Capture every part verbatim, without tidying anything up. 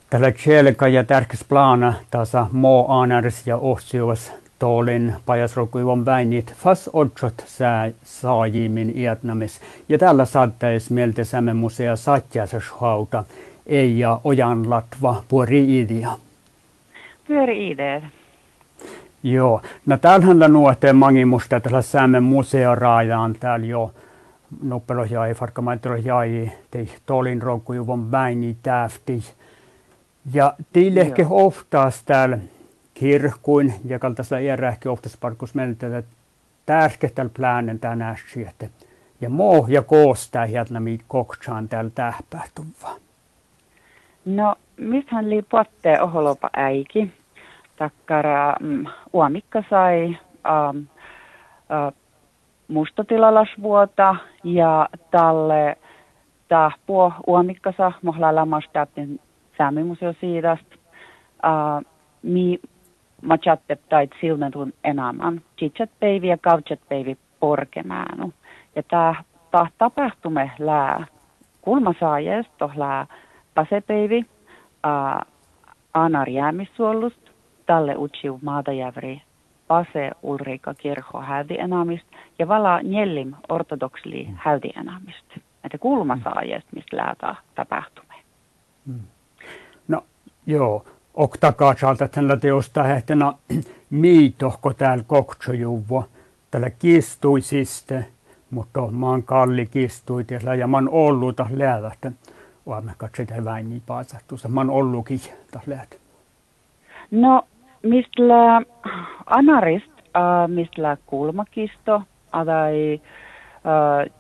Tällä kielkä ja tärkeäs plana tasa moo aanärs ja ohsiuvas toolin pajasrokuivon väinit fas otsot sää saajimin iätnamis. Ja tällä saattais mieltä Sämen musea satjäsashauta ei ja ojan latva puori idea. Pyöri idea. Joo. No täällähän nuoteen mangimusta tällä Sämen musea raajaan täällä jo noppelo jäi, farkamaitro jäi, tei toolin rokuivon väini täfti. Ja teille ehkä oftaas täällä kirkkuin, ja kaltaisella iärähki oftaas parkus meiltä, että tärkeä täällä plänen tänään sieltä. Ja moo ja koostaa hieltä miit koktsaan täällä tähpähtuvaa. No, mistähän lii pottee oholopa äiki. Takkara mm, uomikka sai ähm, äh, mustatilalasvuota ja talle tahpuo uomikkasa mohla lamastaapin Säämimuseo siidast. Uh, mi machatte tait silmentun enemmän. Chichat päivi ja kautchat päivi porkemäänu. Ja tää ta, tapahtume lää kulmasaajest tohlää pasepäivi uh, Anar jäämissuollust. Talle utsiu maatajävri Pase Ulrika kirkko häydi enamist ja vala Njellim ortodoksli häydi enamist. Että kulmasaajest, mistä lää tapahtume. Mm. No joo, oktakaasalta tällä teosta hehtänä miitohko täällä koktsojuvvo. Tällä kistuisiste, mutta maan kalli kistui ja mä oon ollut taas läävästä. Olemme katsotaan vähän niin paasahtuussa. Mä oon ollutkin taas läht. No, mistä anarist, äh, mistä kulmakisto, tai äh,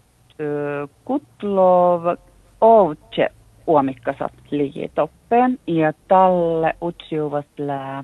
kutlov ovtse uomikkasat ligi toppen ja talle utsiuvast lää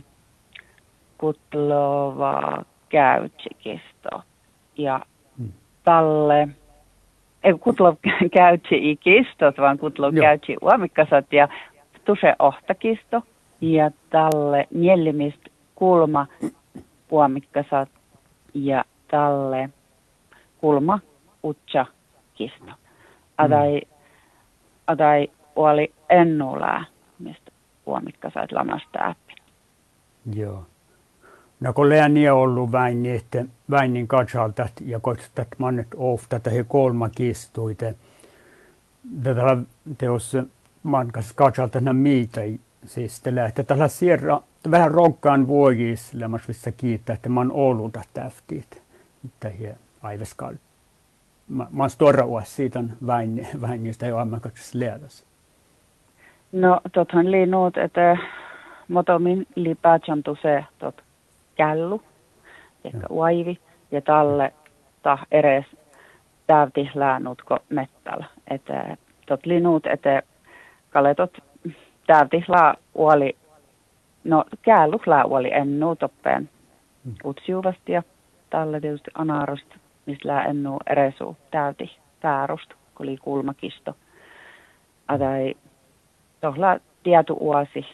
kutlova käytsikisto ja talle ei kutlov käytsi ikistot vaan kutlov käytsi uomikkasat ja tuse ohtakisto ja talle njellimist kulma uomikkasat ja talle kulma utsa kisto adai adai oli ennulää, mistä uomikkasait lamasta äppi. Joo. No kun lääni on ollut väin, että väinin katsalta ja kotstat mannet ofta, että he kolma kistuite. Tätä teos mankas katsalta nämä miitä siis tällä, että tällä sierra vähän rokkaan vuogis lämmas vissa kiittää, että man ollut täftiit. Että he aiveskal. Mä oon stora uus siitä väin, väinistä jo ammakaks läädäs. No, tothan lii nuut, että motomin lii päätsantu se tot källu, ehkä uaivi, ja talle ta eres täyti läänutko mettällä. Että tot lii nuut, että kaletot täyti lää uoli, no källu lää uoli ennu toppeen mm. utsiuvasti ja talle tietysti anarosta, mistä lää ennu eresu täyti päärusta, kun lii kulmakisto. Adai tohla tietu uosi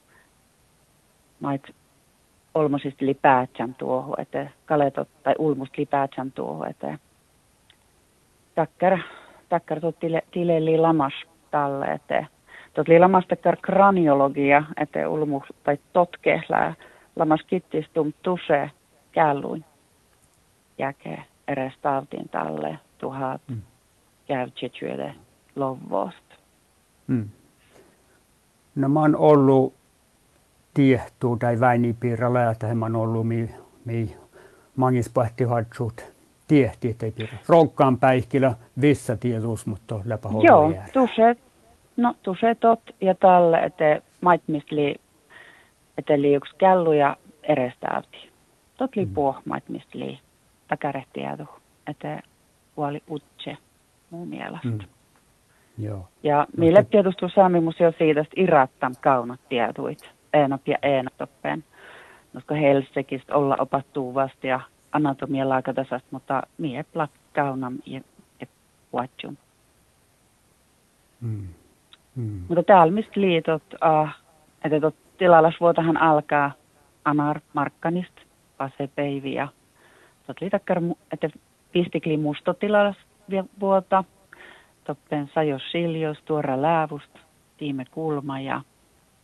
mait olmosista lipäätsän tuohon, että kaletot tai ulmust lipäätsän tuohon, että takkar, takkar tuot tile, tileli lamas talle, että tuot li lamas takkar kraniologia, että ulmus tai totkehlää lamas kittistum tuse källuin jäke eres tautiin talle tuhat mm. käytsetsyöde lovosta. Mm. No mä oon ollut tiehtuu tai väinipiirralla, että mä oon ollut mi, mi mangispahtihatsut tiehti, ettei piirrä. Ronkkaan päihkillä vissa tietuus, mutta läpä hollu joo, tuse, no tuse tot ja talle, että maitmisli, että li yksi källu ja erestäyti. Tot li mm. puh maitmisli takarehtiätu, että huoli utse muun mielestä. Mm. Joo. Ja meille tietysti Saamimuseo siitä irattam kaunat tietuit, eenap ja eenatoppeen. Koska Helsingistä olla opattuu vasta ja anatomia laakatasasta, mutta mie plak kaunam ja, ja puatjum. Mm. Mm. Mutta täällä mistä liitot, uh, että tot tilalasvuotahan alkaa Anar Markkanista, Pase Päivi ja tot liitakkar, että pistikli mustotilalasvuota. Toppen Sajo Siljos, Tuora Läävust, Tiime Kulma ja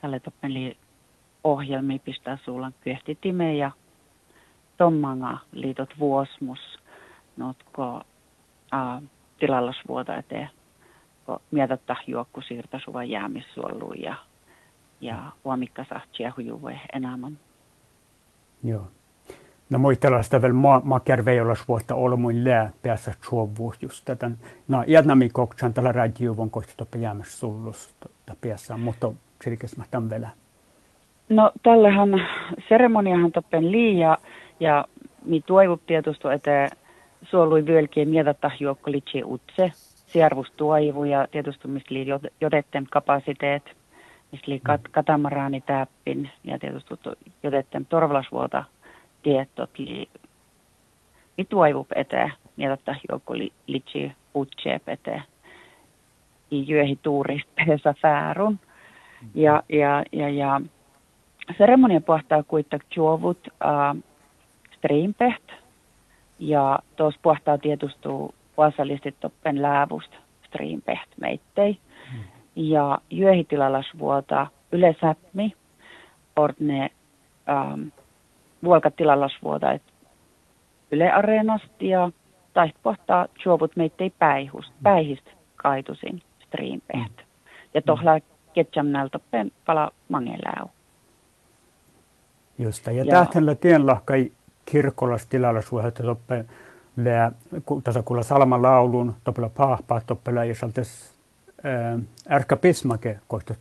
tälle toppeli ohjelmi pistää suulan kyehti time ja tommanga liitot vuosmus notko äh, tilallasvuota eteen, kun mietattaa juokku siirtä suva jäämissuoluun ja, ja huomikka saa tsiehujuve enemmän. Joo. No muistellaan sitä vielä makjärveijolas vuotta olmuin lää päässä suovuus just tätä. No jätnämi koksan tällä radioon kohti toppe jäämässä sullusta päässä, mutta sirkes mä tämän vielä. No tällähän seremoniahan toppen liian ja mi toivut tietysti, että suolui vyölkien mietattaa juokko litsi utse, siervus toivu ja tietysti mistä lii jodetten kapasiteet, mistä lii kat, katamaraani täppin ja tietysti jodetten torvalasvuota tietot lii mi toivut eteen mietattaa juokko litsi utse eteen. I jyöhi tuurista pesä fäärun ja, ja, ja, ja seremonia pohtaa kuitenkin juovut äh, striimpeht ja tuossa pohtaa tietysti vasallistit toppen läävusta striimpeht meittei. Mm. Ja jyöhitilalasvuota yleisäpmi ordne ähm, vuolkatilalasvuota et yle areenasti ja tai pohtaa juovut meittei päihust, päihist kaitusin striimpeht. Mm. Ja tohla ketjamnäl toppen pala mangeläu. Just ja, ja tähtänllä tienlahkai kirkollas tilalla suojelta toppe lää tässä kuulla salman laulun toppela pahpaa toppela ja saltes ärkä pismake kohtat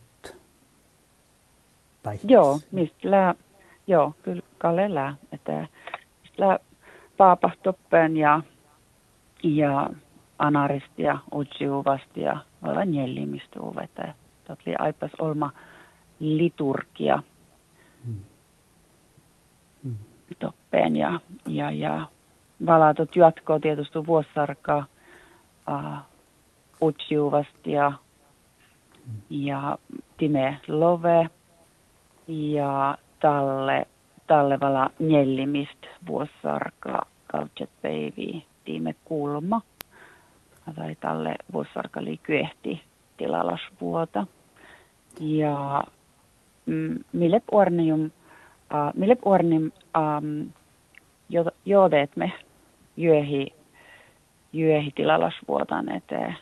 tai joo mistä lää joo kyllä kalle lää että lää paapa toppen ja ja anarist ja utsiuvasti ja olla jellimistä uveta totli aipas olma liturgia hmm. Hmm. toppeen ja, ja, ja valatot jatkoa tietysti vuosisarkaa uh, utsiuvasti ja, mm. ja time love ja talle, talle vala njellimist vuosisarkaa kautset päiviä time kulma tai talle vuosisarka oli kyehti tilalasvuota ja mm, mille ornium Uh, mille ornim um, jodet me jyöhi, jyöhi tilalasvuotan eteen.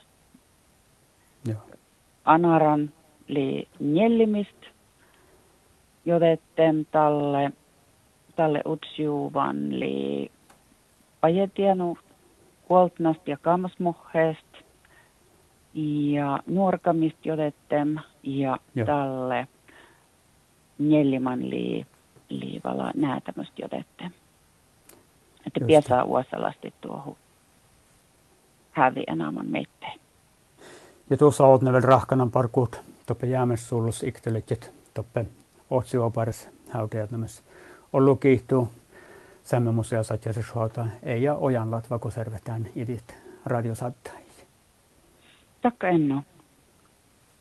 Anaran li njellimist jodetten talle, talle utsiuvan li pajetianu kuoltnast ja kammasmohheest ja nuorkamist jodetten ja Joo. talle njelliman li liivala nää tämmöistä jodette. Että piäsää uosalasti tuohon hävi enemmän meitteen. Ja tuossa oot ne vielä rahkanan parkuut toppe jäämessuullus ikteletjet toppe otsioparis hautajat nämässä. Ollu kiihtuu sämmömusea satjasisuota ei ja ojan latva, kun servetään idit radiosattajia. Takka enno.